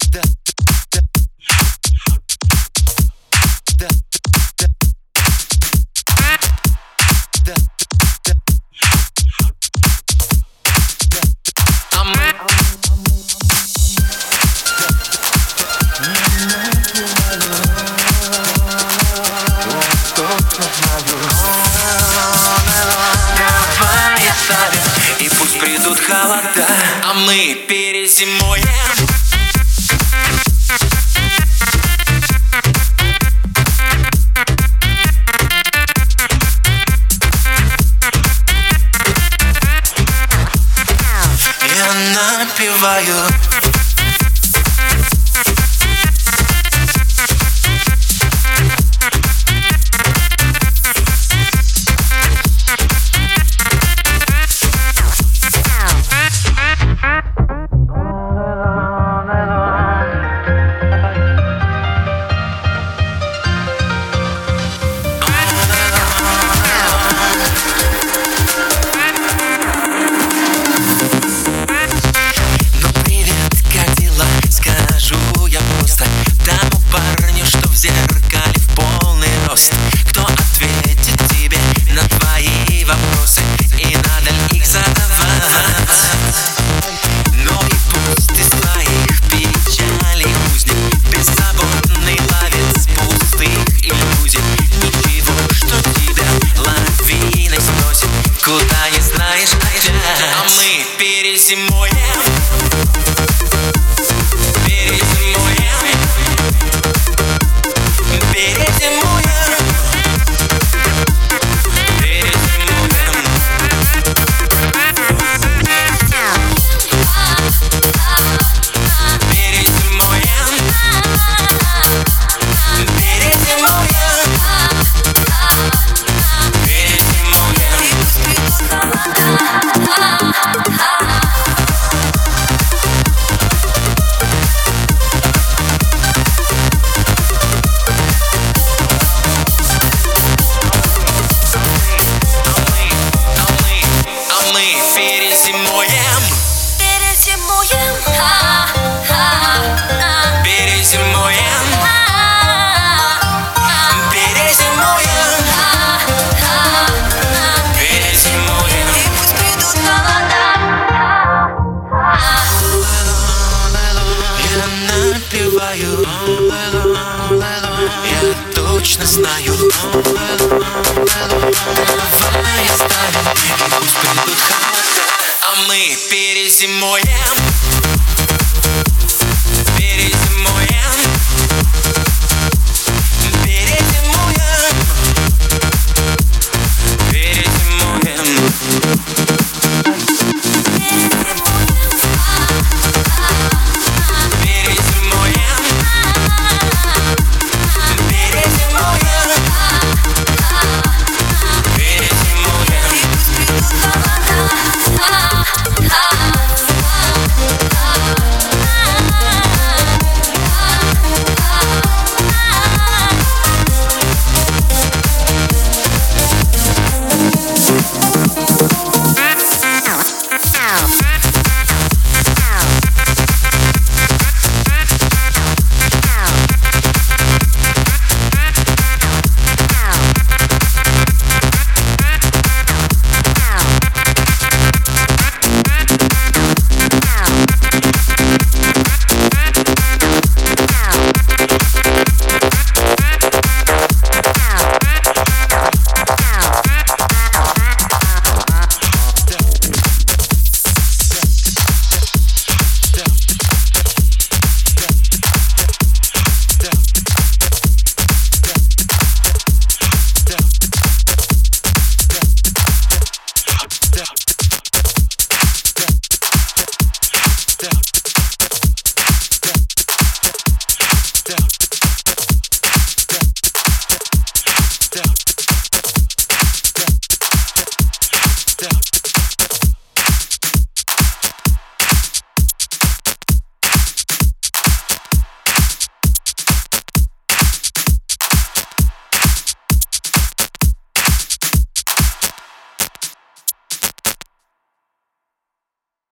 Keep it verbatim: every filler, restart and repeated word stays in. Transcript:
И пусть придут холода, а мы перезимуем. Я напеваю. Парню, что в зеркале в полный рост, кто ответит тебе на твои вопросы, и надо ли их задавать. Но и пусть из твоих печалей узник, беззаботный ловец пустых иллюзий. Ничего, что тебя лавиной сносит, куда не знаешь опять. А мы перезимуем. Перезимуем, перезимуем, перезимуем, перезимуем, перезимуем. и пусть придут холода. Я напеваю, я точно знаю. Давай оставим, и пусть придут холода, а мы перезимуем.